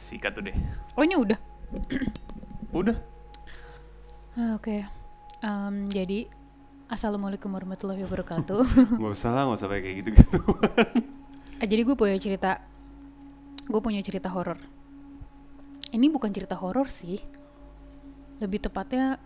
Sikat tuh deh. Oh ini udah? Udah. Oke. Jadi Assalamualaikum warahmatullahi wabarakatuh. Gak usah lah, gak usah kayak gitu-gitu. Jadi gue punya cerita horor. Ini bukan cerita horor sih, lebih tepatnya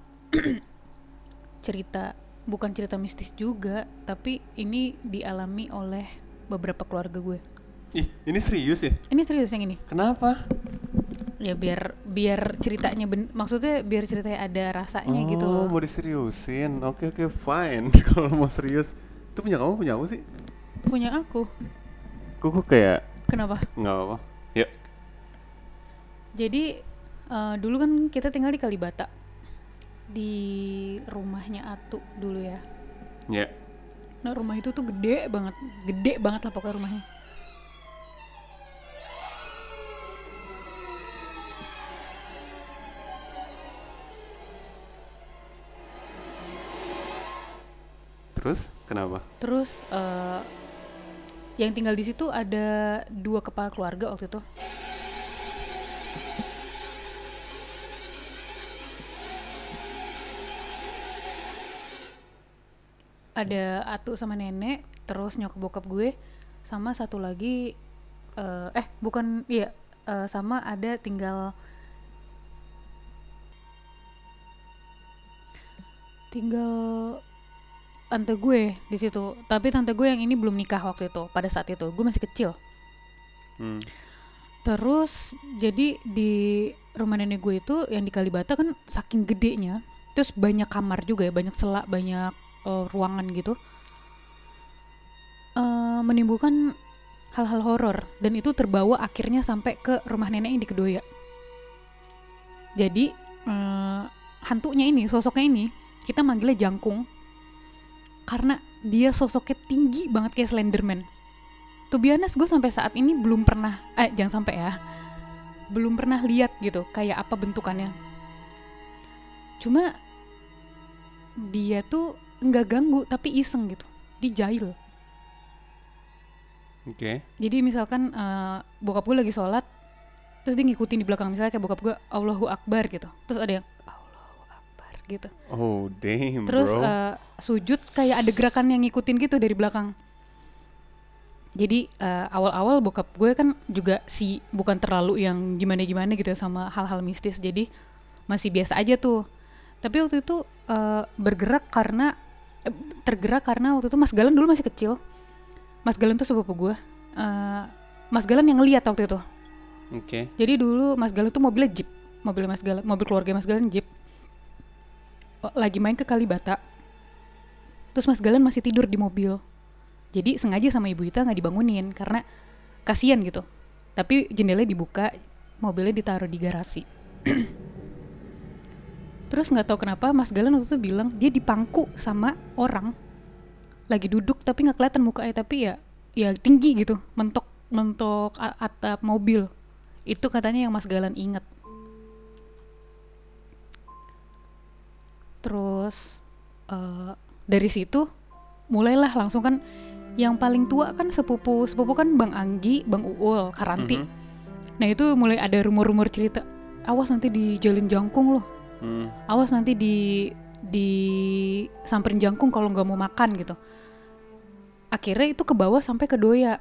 bukan cerita mistis juga, tapi ini dialami oleh beberapa keluarga gue. Ih, ini serius ya? Ini serius yang ini. Kenapa? Ya biar ceritanya maksudnya biar ceritanya ada rasanya gitu loh. Oh, mau diseriusin. Oke, fine. Kalau mau serius. Itu punya kamu, punya aku sih? Punya aku. Kok kayak Kenapa? nggak apa-apa. Ya. Jadi dulu kan kita tinggal di Kalibata, di rumahnya Atu dulu ya. Ya. Nah rumah itu tuh gede banget lah pokoknya rumahnya. Terus kenapa? Terus yang tinggal di situ ada 2 kepala keluarga waktu itu. Ada Atu sama nenek, terus nyokap bokap gue, sama satu lagi sama ada tinggal tante gue di situ. Tapi tante gue yang ini belum nikah waktu itu. Pada saat itu gue masih kecil. Terus jadi di rumah nenek gue itu yang di Kalibata kan saking gedenya, terus banyak kamar juga ya, banyak selak, banyak ruangan gitu, menimbulkan hal-hal horor. Dan itu terbawa akhirnya sampai ke rumah nenek yang di Kedoya. Jadi hantunya ini, sosoknya ini kita manggilnya Jangkung karena dia sosoknya tinggi banget kayak Slenderman. To be honest, gue sampai saat ini belum pernah belum pernah lihat gitu kayak apa bentukannya. Cuma dia tuh nggak ganggu tapi iseng gitu, dijail. Oke. Jadi misalkan bokap gue lagi sholat, terus dia ngikutin di belakang, misalnya kayak bokap gue Allahu Akbar gitu, terus ada yang Allahu Akbar gitu. Oh damn, terus bro. Sujud kayak ada gerakan yang ngikutin gitu dari belakang. Jadi awal-awal bokap gue kan juga bukan terlalu yang gimana-gimana gitu sama hal-hal mistis, jadi masih biasa aja tuh. Tapi waktu itu tergerak karena waktu itu Mas Galan dulu masih kecil. Mas Galan tuh sepupu gue. Mas Galan yang ngeliat waktu itu. Oke. Jadi dulu Mas Galan tuh mobilnya Jeep, mobil keluarga Mas Galan Jeep. Lagi main ke Kalibata. Terus Mas Galan masih tidur di mobil. Jadi sengaja sama Ibu Ita nggak dibangunin karena kasian gitu. Tapi jendelanya dibuka, mobilnya ditaruh di garasi. Terus nggak tahu kenapa Mas Galan waktu itu bilang dia dipangku sama orang. Lagi duduk tapi nggak kelihatan mukanya, tapi ya tinggi gitu, mentok atap mobil. Itu katanya yang Mas Galan ingat. Terus dari situ mulailah langsung kan. Yang paling tua kan sepupu kan Bang Anggi, Bang Uul, Karanti. Nah itu mulai ada rumor-rumor cerita, awas nanti dijalin Jangkung loh. Awas nanti di samperin Jangkung kalau nggak mau makan gitu. Akhirnya itu ke bawah sampai ke Doya.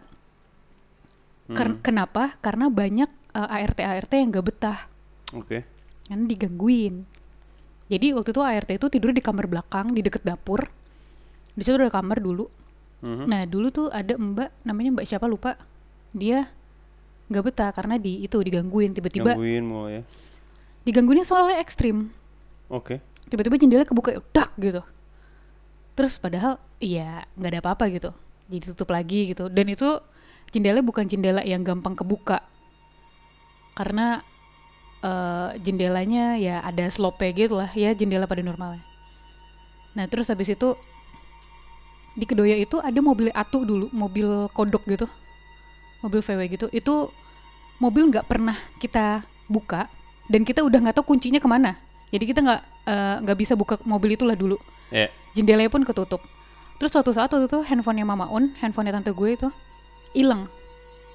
Kenapa? Karena banyak ART yang nggak betah. Oke. Kan digangguin. Jadi waktu itu ART itu tidur di kamar belakang di deket dapur. Di situ ada kamar dulu. Nah dulu tuh ada mbak, namanya mbak siapa lupa, dia nggak betah karena digangguin tiba-tiba. Gangguin mulai ya. Digangguinnya soalnya ekstrim. Oke. Tiba-tiba jendela kebuka, dak gitu. Terus padahal ya nggak ada apa-apa gitu, jadi tutup lagi gitu. Dan itu jendela bukan jendela yang gampang kebuka karena jendelanya ya ada slope gitu lah ya, jendela pada normalnya. Nah terus habis itu di Kedoya itu ada mobil Atu dulu, mobil kodok gitu, mobil VW gitu. Itu mobil nggak pernah kita buka dan kita udah nggak tahu kuncinya kemana. Jadi kita nggak bisa buka mobil itulah dulu. Yeah. Jendelanya pun ketutup. Terus suatu saat waktu itu handphonenya Mama Un, handphonenya tante gue itu hilang.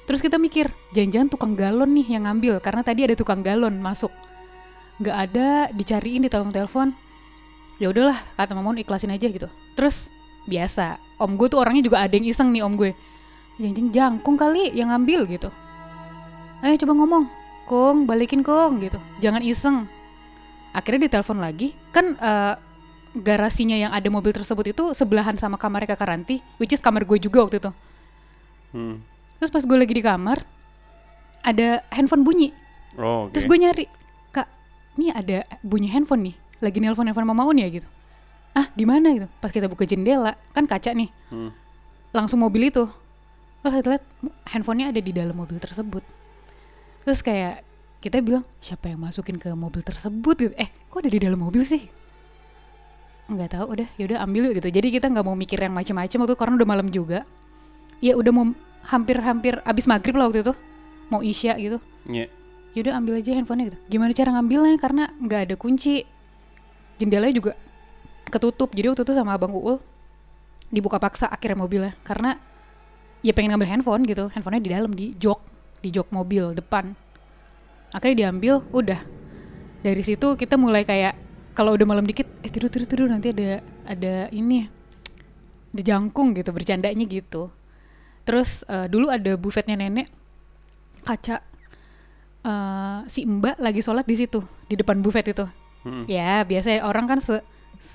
Terus kita mikir, jangan-jangan tukang galon nih yang ngambil, karena tadi ada tukang galon masuk. Nggak ada, dicariin di telepon. Ya udahlah, kata Mamun ikhlasin aja gitu. Terus biasa, om gue tuh orangnya juga ada yang iseng nih om gue. Jangan-jangan jangkung kali yang ngambil gitu. Ayo coba ngomong, Kong balikin Kong gitu. Jangan iseng. Akhirnya ditelepon lagi, kan garasinya yang ada mobil tersebut itu sebelahan sama kamarnya Kakak Ranti, which is kamar gue juga waktu itu. Terus pas gue lagi di kamar, ada handphone bunyi. Oh, okay. Terus gue nyari, Kak, ini ada bunyi handphone nih, lagi nelpon Mama Un ya gitu. Ah, di mana gitu? Pas kita buka jendela, kan kaca nih, langsung mobil itu. Terus kita lihat handphonenya ada di dalam mobil tersebut. Terus kayak kita bilang, siapa yang masukin ke mobil tersebut gitu? Kok ada di dalam mobil sih? Nggak tahu, yaudah ambil yuk gitu. Jadi kita nggak mau mikir yang macam-macam waktu itu karena udah malam juga. Ya udah mau hampir abis maghrib lah waktu itu, mau isya gitu. Yaudah ambil aja handphonenya gitu. Gimana cara ngambilnya karena nggak ada kunci, jendelanya juga ketutup. Jadi waktu itu sama Abang Uul dibuka paksa akhirnya mobilnya karena ya pengen ngambil handphone gitu. Handphonenya di dalam di jok mobil depan. Akhirnya diambil, udah. Dari situ kita mulai kayak kalau udah malam dikit, tidur nanti ada ini, ada jangkung gitu, bercandanya gitu. Terus dulu ada bufetnya nenek, kaca, si Mbak lagi sholat di situ, di depan bufet itu. Ya biasa orang kan se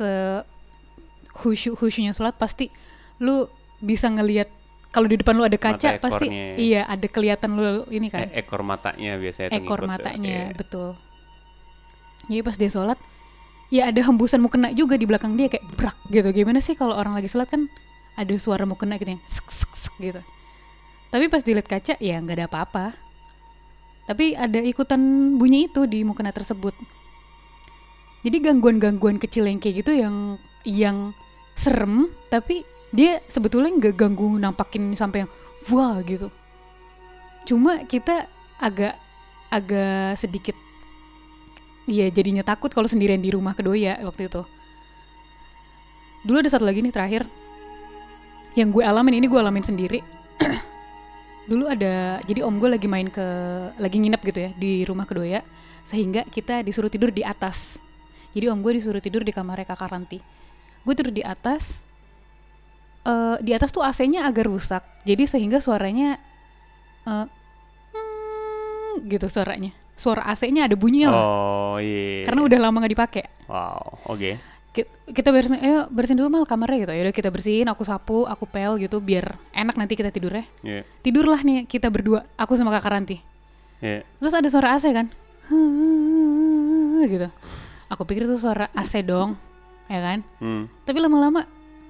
khusyunya sholat pasti lu bisa ngelihat kalau di depan lu ada kaca pasti iya ada kelihatan lu ini kan. Ekor matanya biasanya. Ekor matanya betul. Jadi pas dia sholat, ya ada hembusan mukena juga di belakang dia kayak brak gitu. Gimana sih kalau orang lagi sholat kan ada suara mukena gitu yang sek gitu. Tapi pas dilihat kaca ya nggak ada apa-apa. Tapi ada ikutan bunyi itu di mukena tersebut. Jadi gangguan-gangguan kecil yang kayak gitu yang serem, tapi dia sebetulnya nggak ganggu nampakin sampai yang wah gitu. Cuma kita agak sedikit ya jadinya takut kalau sendirian di rumah Kedoya waktu itu. Dulu ada satu lagi nih terakhir yang gue alamin sendiri. Dulu ada, jadi om gue lagi nginep gitu ya di rumah Kedoya, sehingga kita disuruh tidur di atas. Jadi om gue disuruh tidur di kamarnya Kakak Ranti. Gue tidur di atas tuh AC-nya agak rusak, jadi sehingga suaranya gitu suaranya. Suara AC-nya ada bunyinya lah. Oh iya. Karena udah lama nggak dipakai. Wow, oke. Kita bersihin dulu mal kamarnya gitu. Yaudah kita bersihin, aku sapu, aku pel gitu biar enak nanti kita tidurnya. Yeah. Tidurlah nih kita berdua, aku sama Kakak Ranti. Yeah. Terus ada suara AC kan, gitu. Aku pikir itu suara AC dong, ya kan? Tapi lama-lama,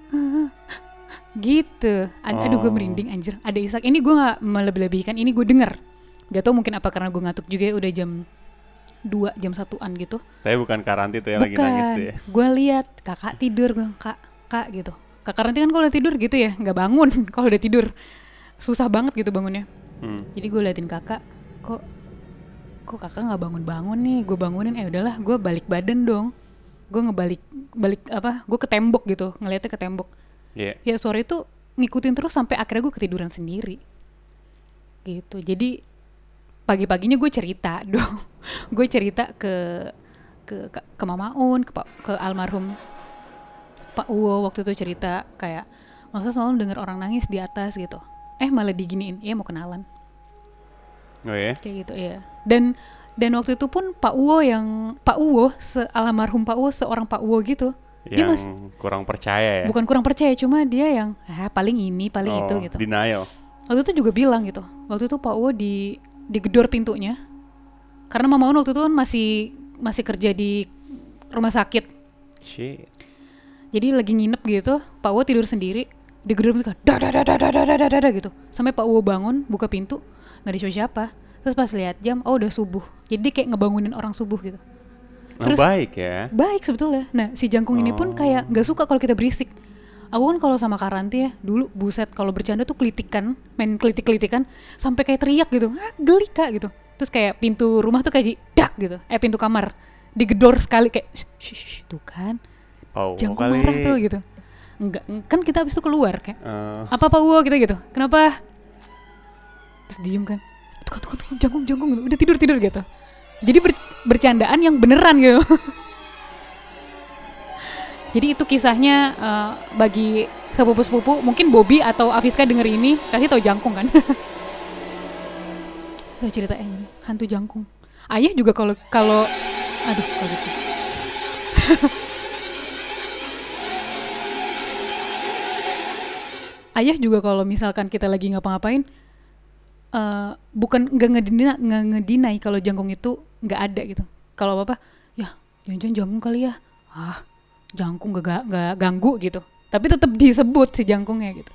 gitu. Aduh gue merinding anjir. Ada isak. Ini gue nggak melebih-lebihkan. Ini gue dengar. Gak tau mungkin apa karena gue ngantuk juga ya, udah jam 2, jam 1-an gitu. Tapi bukan Kak Ranti tuh yang lagi nangis tuh ya? Gue lihat kakak tidur, kak gitu. Kakak Ranti kan kalau udah tidur gitu ya, nggak bangun. Kalau udah tidur susah banget gitu bangunnya. Jadi gue liatin kakak, kok kakak nggak bangun nih. Gue bangunin, udahlah, gue balik badan dong. Gue gue ke tembok gitu, ngeliatnya ke tembok. Yeah. Ya sore itu ngikutin terus sampai akhirnya gue ketiduran sendiri. Gitu. Jadi pagi-paginya gue cerita dong. Gue cerita ke Mama Un, ke almarhum Pak Uwo waktu itu cerita kayak masa selalu dengar orang nangis di atas gitu. Malah diginiin, mau kenalan. Oh ya? Kayak gitu ya. Dan waktu itu pun Pak Uwo almarhum Pak Uwo seorang Pak Uwo gitu. Yang dia kurang percaya ya? Bukan kurang percaya, cuma dia yang paling ini, paling itu gitu. Denial. Waktu itu juga bilang gitu. Waktu itu Pak Uwo digedor pintunya karena Mama Un waktu itu kan masih kerja di rumah sakit. Shit. Jadi lagi nginep gitu, Pak Uwo tidur sendiri, digedor pintu dah gitu. Sampai Pak Uwo bangun, buka pintu, nggak ada siapa. Terus pas lihat jam, udah subuh. Jadi kayak ngebangunin orang subuh gitu. Terus baik ya. Baik sebetulnya. Nah si jangkung ini pun kayak nggak suka kalau kita berisik. Aku kan kalau sama Kak Ranti ya, dulu buset kalau bercanda tuh main kelitik-kelitikan sampai kayak teriak gitu, geli Kak gitu. Terus kayak pintu rumah tuh kayak dak gitu, pintu kamar digedor sekali kayak, shh, tuh kan, jangkung marah tuh gitu. Enggak, kan kita abis itu keluar kayak, apa Pak Uwo kita gitu, kenapa? Terus diem kan, tuh jangkung udah tidur gitu. Jadi bercandaan yang beneran gitu. Jadi itu kisahnya bagi sepupu-sepupu, mungkin Bobby atau Afiska denger ini kasih tahu jangkung kan. Udah ceritanya ini hantu jangkung. Ayah juga kalau aduh kalau gitu. Ayah juga kalau misalkan kita lagi ngapa-ngapain bukan nggak ngedinai kalau jangkung itu nggak ada gitu. Kalau apa ya jangan jangkung kali ya, jangkung gak ganggu gitu, tapi tetap disebut si jangkungnya gitu.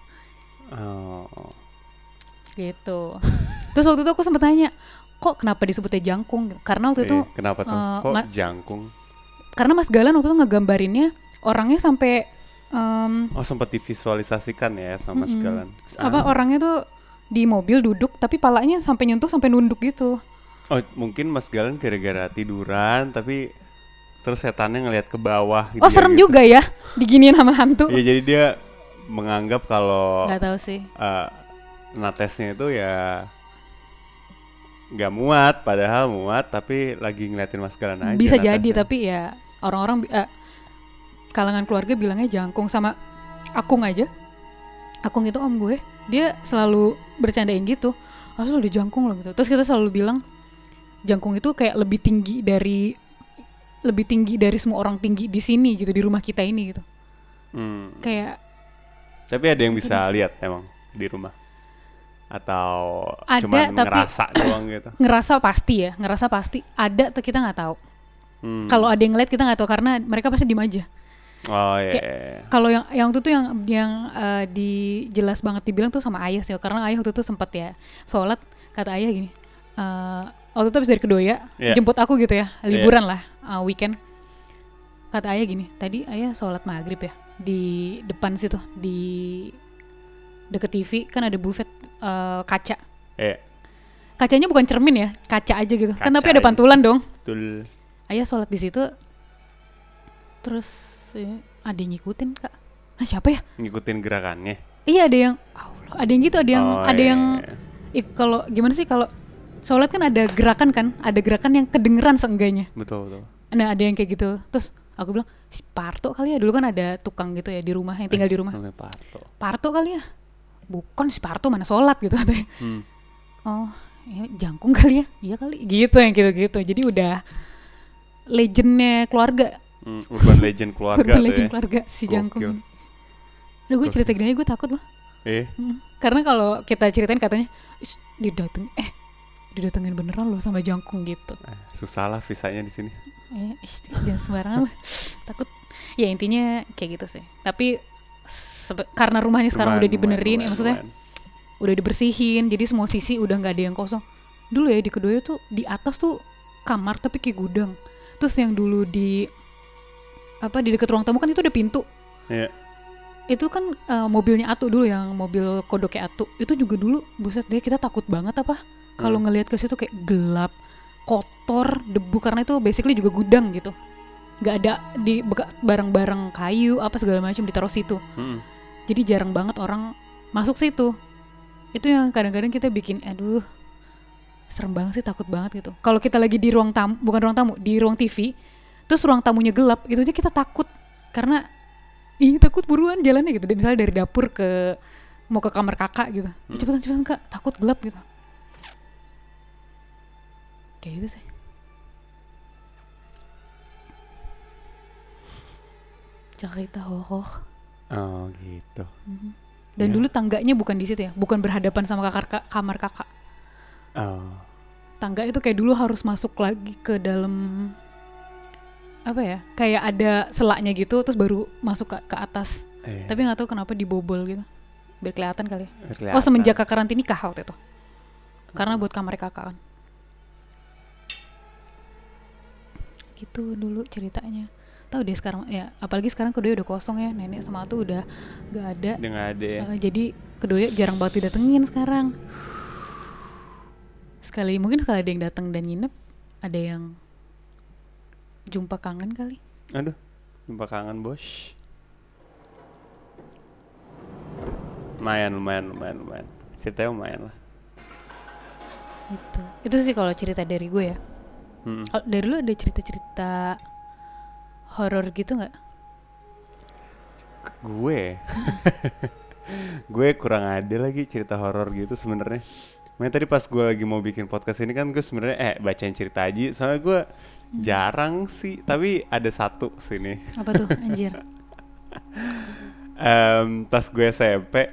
Gitu. Terus waktu itu aku sempat tanya, kok kenapa disebutnya jangkung? Karena waktu itu kenapa tuh kok jangkung? Karena Mas Galan waktu itu ngegambarinnya orangnya sampai sempat divisualisasikan ya sama Mas Galan. Apa orangnya tuh di mobil duduk tapi palanya sampai nyentuh sampai nunduk gitu. Oh, mungkin Mas Galan gara-gara tiduran tapi terus setannya ngelihat ke bawah gitu. Oh, serem gitu. juga ya diginiin sama hantu. Iya, jadi dia menganggap kalau nggak tahu sih. Natesnya itu ya nggak muat, padahal muat tapi lagi ngeliatin Mas Galan aja. Bisa natesnya. jadi, tapi ya orang-orang kalangan keluarga bilangnya jangkung. Sama Akung aja. Akung itu om gue, dia selalu bercandain gitu. Asal udah jangkung loh gitu. Terus kita selalu bilang jangkung itu kayak lebih tinggi dari semua orang tinggi di sini gitu, di rumah kita ini gitu. Kayak. Tapi ada yang bisa lihat emang di rumah? Atau ada, cuma ngerasa doang gitu? Ngerasa pasti. Ada tuh kita nggak tahu. Kalau ada yang ngeliat kita nggak tahu karena mereka pasti diem aja. Oh iya. Kalau yang itu tuh yang dijelas banget dibilang tuh sama ayah sih, karena ayah waktu itu sempat ya sholat, kata ayah gini, waktu itu habis dari Kedoya jemput aku gitu ya, liburan lah, weekend. Kata ayah gini, tadi ayah sholat maghrib ya di depan situ, di deket TV kan ada buffet kaca. Kacanya bukan cermin ya, kaca aja gitu. Kaca kan tapi ada pantulan dong. Betul. Ayah sholat di situ, terus ada yang ngikutin kak. Siapa ya? Ngikutin gerakannya? Iya, ada yang Allah, ada yang gitu, ada yang kalau gimana sih, kalau sholat kan ada gerakan yang kedengeran seenggaknya. Betul. Nah ada yang kayak gitu. Terus aku bilang si Parto kali ya, dulu kan ada tukang gitu ya di rumah yang tinggal di rumah. Parto kali ya, bukan si Parto mana sholat gitu katanya. Oh ya, jangkung kali ya, iya kali gitu, yang gitu-gitu. Jadi udah legendnya keluarga. Urban legend keluarga. Urban legend keluarga si jangkung ini. Aduh, gue cerita gini aja gue takut loh. Karena kalau kita ceritain katanya didatengin beneran loh sama jangkung gitu. Susah lah visanya di sini. Jangan sembarangan lah. Takut. Ya intinya kayak gitu sih. Tapi karena rumahnya sekarang udah dibenerin, maksudnya udah dibersihin, jadi semua sisi udah nggak ada yang kosong. Dulu ya di Kedoya tuh di atas tuh kamar tapi kayak gudang. Terus yang dulu di dekat ruang tamu kan itu ada pintu. Iya. Itu kan mobilnya Atu dulu, yang mobil kodoknya Atu. Itu juga dulu buset deh, kita takut banget kalau ngelihat ke situ kayak gelap, kotor, debu, karena itu basically juga gudang gitu. Gak ada di barang-barang kayu apa segala macam ditaruh situ. Jadi jarang banget orang masuk situ. Itu yang kadang-kadang kita bikin aduh serem banget sih, takut banget gitu. Kalau kita lagi di ruang tamu, bukan ruang tamu, di ruang TV, terus ruang tamunya gelap, itu aja kita takut. Karena takut buruan jalannya gitu. Misalnya dari dapur mau ke kamar kakak gitu. Cepetan kak, takut gelap gitu. Kayak gitu sih. Cerita horor. Oh gitu. Dan dulu tangganya bukan di situ ya, bukan berhadapan sama kamar kakak. Tangga itu kayak dulu harus masuk lagi ke dalam kayak ada selaknya gitu, terus baru masuk ke atas. Tapi nggak tahu kenapa dibobol gitu, biar kelihatan kali ya. Oh, semenjak kakak Ranti nikah waktu itu, karena buat kamar kakak kan. Gitu dulu ceritanya. Tahu deh sekarang ya, apalagi sekarang Kedoya udah kosong ya, nenek sama tuh udah nggak ada. Jadi Kedoya jarang banget didatengin sekarang. Mungkin sekali ada yang datang dan nginep, ada yang jumpa kangen kali. Aduh, jumpa kangen bos. Lumayan. Ceritanya lumayan lah. Itu sih kalau cerita dari gue ya. Kalau dari lu ada cerita-cerita horor gitu nggak? Gue kurang ada lagi cerita horor gitu sebenarnya. Makanya tadi pas gue lagi mau bikin podcast ini kan gue sebenarnya bacain cerita aja. Soalnya gue jarang sih, tapi ada satu sini. Apa tuh anjir? Pas gue SMP,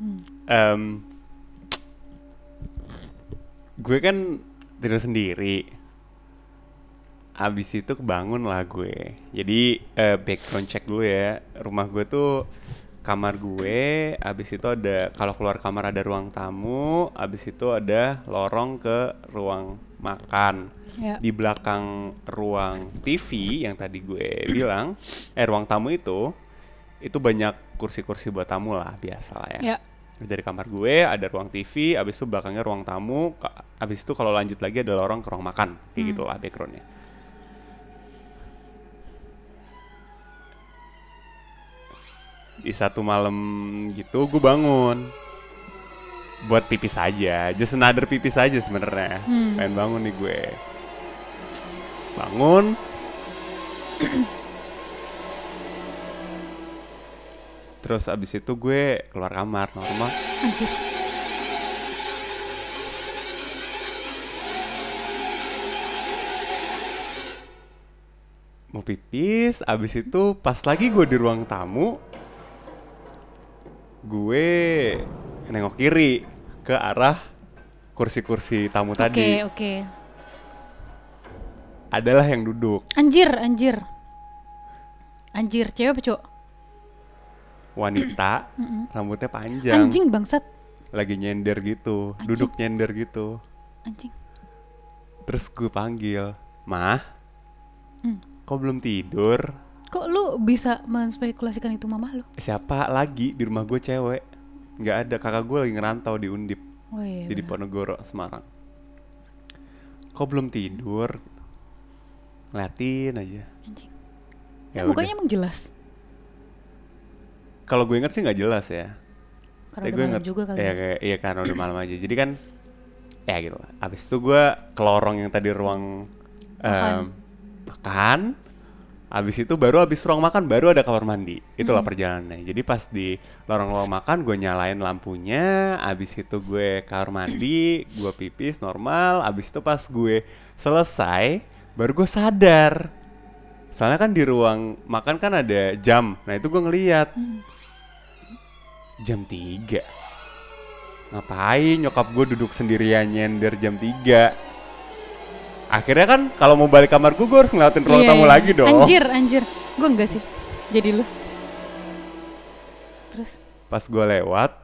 gue kan tidur sendiri. Abis itu kebangun lah gue. Jadi background check dulu ya. Rumah gue tuh kamar gue, abis itu ada, kalau keluar kamar ada ruang tamu, abis itu ada lorong ke ruang makan. Ya. Di belakang ruang TV yang tadi gue bilang, ruang tamu itu banyak kursi-kursi buat tamu lah, biasa lah ya. Ya. Dari kamar gue ada ruang TV, abis itu belakangnya ruang tamu, abis itu kalau lanjut lagi ada lorong ke ruang makan, kayak gitulah backgroundnya. Di satu malam gitu gue bangun buat pipis aja, just another pipis aja sebenarnya. Pengen bangun nih gue, bangun. Terus abis itu gue keluar kamar normal. Anjir. Mau pipis, abis itu pas lagi gue di ruang tamu, gue nengok kiri ke arah kursi-kursi tamu tadi. Oke. Adalah yang duduk. Anjir, cewek apa cowok? Wanita, rambutnya panjang. Anjing bangsat. Lagi nyender gitu, Anjing. duduk nyender gitu. Anjing. Terus gue panggil, "Mah, kok belum tidur?" Kok lu bisa menspekulasikan itu mamah lu? Siapa lagi di rumah gue cewek? Nggak ada, kakak gue lagi ngerantau di Undip. Oh iya. Di Diponegoro, Semarang. Kok belum tidur? Ngeliatin aja. Anjing. Ya Mukanya udah. emang jelas. Kalau gue inget sih nggak jelas ya. Karena Tapi udah gue malam inget, juga kali. iya karena udah malam aja. Jadi kan, ya gitu lah. Abis itu gue ke lorong yang tadi ruang makan. Abis itu abis ruang makan baru ada kamar mandi. Itulah perjalanannya. Jadi pas di lorong makan gue nyalain lampunya. Abis itu gue kamar mandi, gue pipis normal. Abis itu pas gue selesai, baru gue sadar. Soalnya kan di ruang makan kan ada jam. Nah itu gue ngeliat. Jam 3. Ngapain nyokap gue duduk sendirian nyender jam 3? Akhirnya kan kalau mau balik kamar gue harus ngelewatin ruang tamu lagi dong. Anjir. Gue enggak sih. Jadi lu. Terus? Pas gue lewat,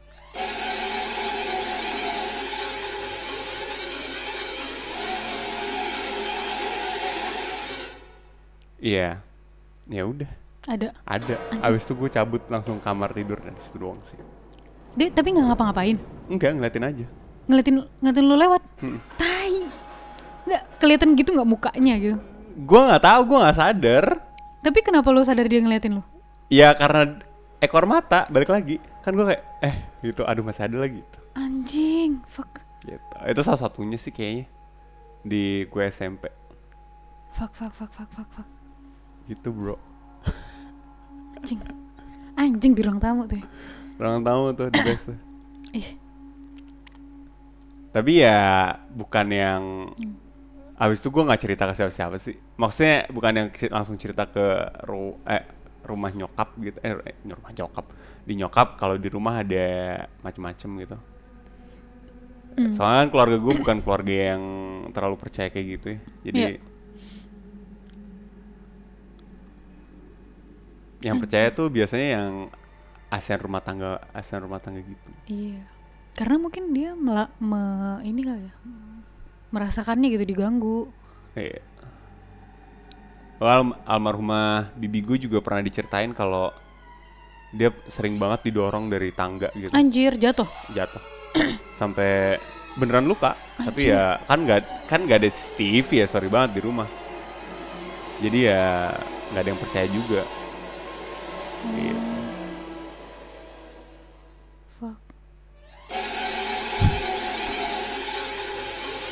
iya, ya udah. Ada. Ada. Abis itu gue cabut langsung kamar tidur dan situ doang sih. Dia tapi nggak ngapa-ngapain. Enggak, ngeliatin aja. Ngeliatin lu lewat. Tai. Nggak kelihatan gitu nggak mukanya gitu. Gue nggak tahu, gue nggak sadar. Tapi kenapa lu sadar dia ngeliatin lu? Ya karena ekor mata balik lagi. Kan gue kayak gitu. Aduh masih ada lagi. Gitu. Anjing. Fuck. Gitu. Itu salah satunya sih kayaknya di gue SMP. Fuck. Gitu bro. Anjing di ruang tamu tuh. Ruang tamu tuh di best tuh. Ih. Tapi ya bukan yang abis itu gue nggak cerita ke siapa-siapa sih. Maksudnya bukan yang langsung cerita ke rumah nyokap gitu. Rumah nyokap. Di nyokap kalau di rumah ada macem-macem gitu. Soalnya kan keluarga gue bukan keluarga yang terlalu percaya kayak gitu ya. Jadi yang percaya tuh biasanya yang ASN rumah tangga gitu. Iya. Karena mungkin dia ini kali ya. Merasakannya gitu diganggu. Iya. Almarhumah bibi gue juga pernah diceritain kalau dia sering banget didorong dari tangga gitu. Anjir, jatuh. Sampai beneran luka. Tapi ya kan nggak ada CCTV ya, sorry banget di rumah. Jadi ya nggak ada yang percaya juga. Gitu. Fuck.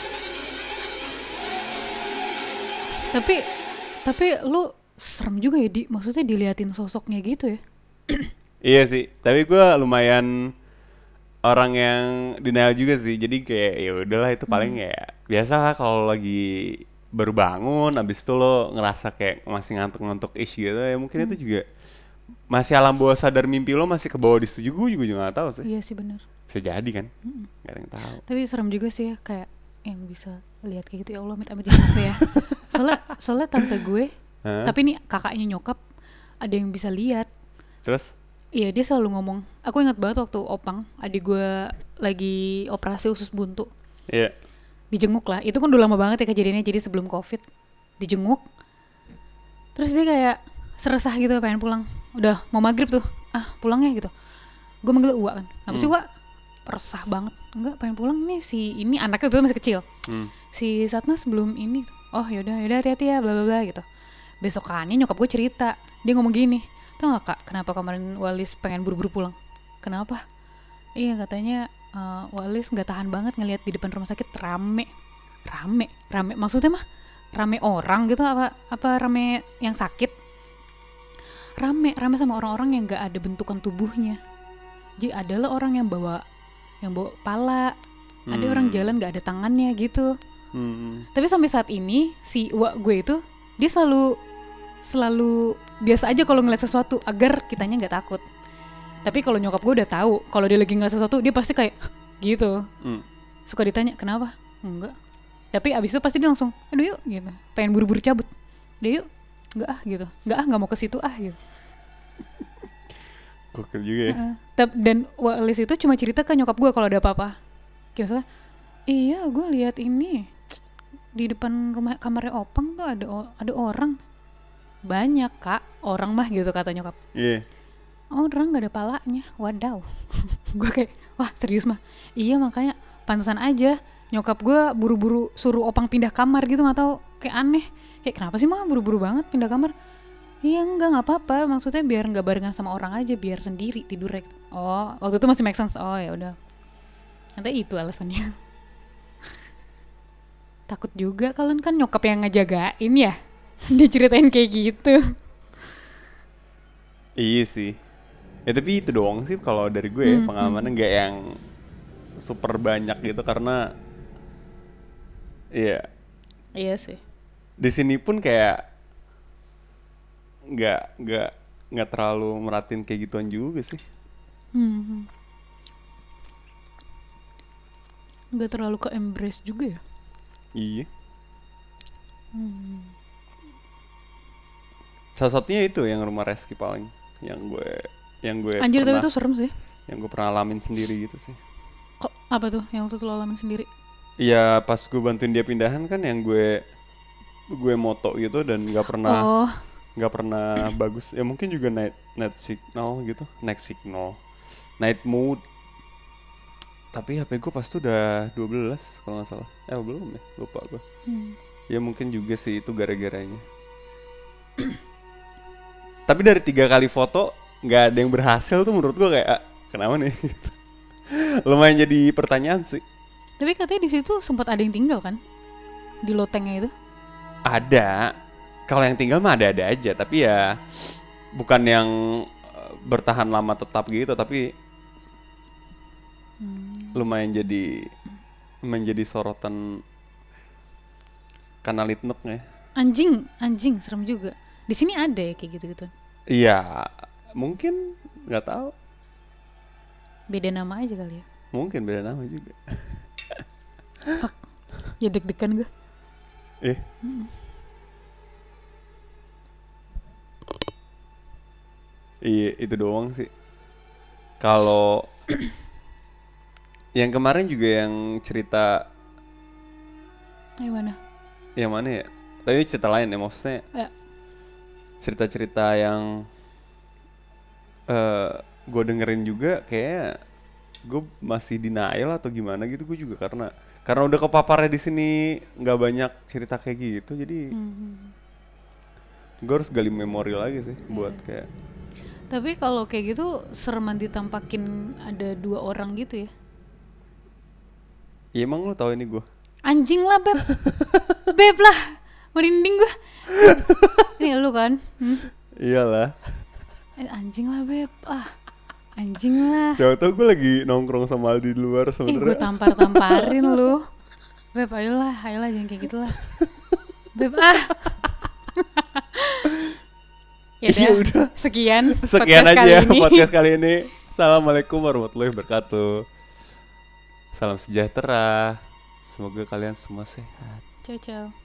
Tapi lu serem juga ya, maksudnya diliatin sosoknya gitu ya. Iya sih, tapi gue lumayan orang yang denial juga sih. Jadi kayak ya udahlah itu paling ya biasa lah kalau lagi baru bangun, abis itu lo ngerasa kayak masih ngantuk-ngantuk ish gitu ya mungkin itu juga masih alam bawah sadar mimpi lo masih ke bawah di situ gue juga nggak tahu sih. Iya sih benar. Bisa jadi kan, nggak ada yang tahu. Tapi serem juga sih ya, kayak yang bisa lihat kayak gitu, ya Allah amit-amit jangan sampai ya. Soalnya tante gue, Hah? tapi ini kakaknya nyokap ada yang bisa lihat. Terus? Iya dia selalu ngomong. Aku ingat banget waktu Opang, adik gue lagi operasi usus buntu. Iya. Dijenguk lah. Itu kan udah lama banget ya kejadiannya, jadi sebelum Covid. Dijenguk. Terus dia kayak seresah gitu pengen pulang. Udah mau maghrib tuh. Ah pulang ya gitu. Gue manggil Uwa kan. Kenapa sih Uwa? Resah banget. Enggak pengen pulang nih si ini anaknya tuh masih kecil. Si Satnas sebelum ini. Oh yaudah hati-hati ya bla bla bla gitu. Besokannya nyokap gue cerita. Dia ngomong gini. Tau gak kak kenapa kemarin Walis pengen buru-buru pulang? Kenapa? Iya katanya Walis gak tahan banget ngelihat di depan rumah sakit rame. Maksudnya mah rame orang gitu apa rame yang sakit? Rame sama orang-orang yang gak ada bentukan tubuhnya. Jadi adalah orang yang bawa pala, ada orang jalan gak ada tangannya gitu. Tapi sampai saat ini si Wak gue itu dia selalu biasa aja kalau ngeliat sesuatu agar kitanya nggak takut. Tapi kalau nyokap gue udah tahu kalau dia lagi ngeliat sesuatu dia pasti kayak gitu. Suka ditanya kenapa? Enggak. Tapi abis itu pasti dia langsung aduh yuk gitu. Pengen buru-buru cabut. Udah yuk. Enggak gitu. Enggak mau ke situ gitu. Gokil juga ya. Dan Walis itu cuma cerita ke nyokap gue kalau ada apa-apa. Kayak misalnya, iya gue lihat ini di depan rumah kamarnya Opang tuh ada orang. Banyak kak orang mah gitu kata nyokap. Iya. Orang nggak ada palanya, wadaw. Gue kayak wah serius mah. Iya makanya pantesan aja nyokap gue buru-buru suruh Opang pindah kamar gitu, nggak tahu kayak aneh. Kayak kenapa sih mah buru-buru banget pindah kamar? Iya nggak apa-apa, maksudnya biar nggak barengan sama orang aja, biar sendiri tidurnya. Oh waktu itu masih make sense. Oh ya udah. Nanti itu alasannya. Takut juga kalian kan nyokap yang ngejagain ya. Diceritain kayak gitu. Iya sih. Ya tapi itu doang sih kalau dari gue ya, pengalamannya nggak yang super banyak gitu karena iya. Iya sih. Di sini pun kayak nggak terlalu merhatiin kayak gituan juga sih. Nggak terlalu ke embrace juga ya. Iya. Salah satunya itu yang rumah Reski paling yang gue Anjir pernah, tapi itu serem sih. yang gue pernah alamin sendiri gitu sih. Kok apa tuh yang waktu itu lo alamin sendiri? Iya pas gue bantuin dia pindahan kan yang gue moto gitu dan nggak pernah bagus ya, mungkin juga night signal night mode, tapi HP gue pas itu udah 12 kalau nggak salah, belum ya, lupa gue. Ya mungkin juga sih itu gara-garanya. Tapi dari 3 kali foto nggak ada yang berhasil tuh menurut gue kayak kenapa nih? Lumayan jadi pertanyaan sih. Tapi katanya di situ sempat ada yang tinggal kan di lotengnya itu? Ada. Kalau yang tinggal mah ada aja, tapi ya bukan yang bertahan lama tetap gitu, tapi lumayan jadi menjadi sorotan kanal Litnuk ya. Anjing serem juga. Di sini ada ya kayak gitu-gitu. Iya, mungkin nggak tahu. Beda nama aja kali ya. Mungkin beda nama juga. Fuck. Ya deg-degan gue. Iya, itu doang sih. Kalau yang kemarin juga yang cerita yang mana ya? Tapi cerita lain ya, maksudnya Ya. cerita-cerita yang gue dengerin juga kayak gue masih denial atau gimana gitu, gue juga karena udah kepaparnya di sini nggak banyak cerita kayak gitu, jadi gue harus gali memori lagi sih buat kayak. Tapi kalau kayak gitu sereman ditampakin ada 2 orang gitu ya? Ya emang lu tahu ini gue? Anjing lah Beb. Beb lah. Merinding gue. Ini lu kan? Iyalah. Anjing lah Beb. Anjing lah. Siapa tau gue lagi nongkrong sama Aldi di luar Gue sebenernya. tampar-tamparin lu. Beb, ayolah jangan kayak gitulah. Beb, Ya udah. Sekian aja podcast kali ini. Assalamualaikum warahmatullahi wabarakatuh. Salam sejahtera. Semoga kalian semua sehat. Ciao.